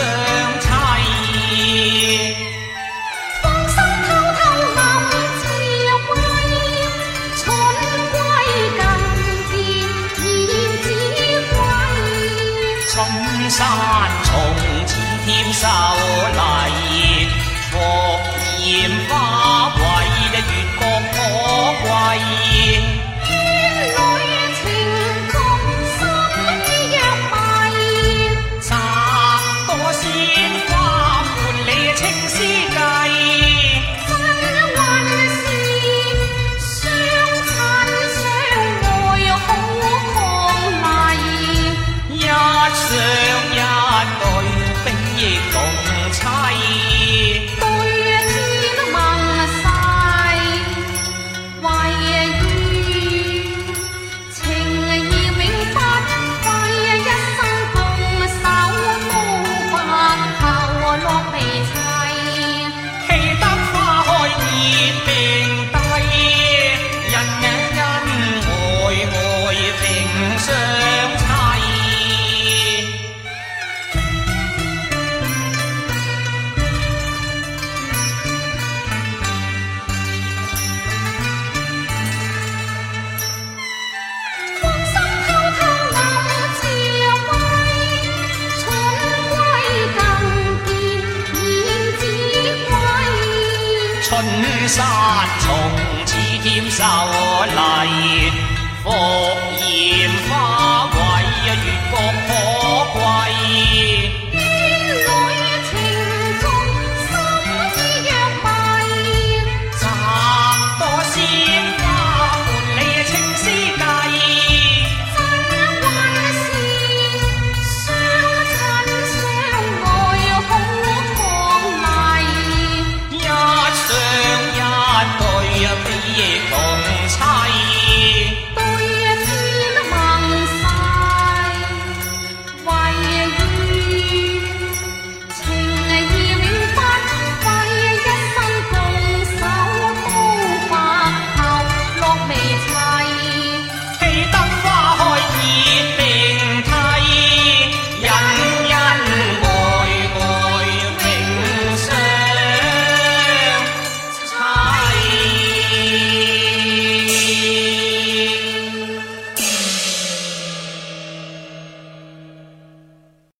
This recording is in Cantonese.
齐。 放心偷偷暗自慰，春归更见燕子归。 春山从此添秀丽，复艳花为月光可贵。 院里情重深若迷， 摘朵鲜花伴你青丝计。 真运是相亲相爱好伉俪， 一雙一對，比翼共妻。 對天盟誓，為願情義永不廢，一生共守到白頭落地齊。 氣得花開結並蒂，恩愛平相齊。 放心偷偷暗自慰，春歸更見燕子歸。 春山從此添秀麗，復艷花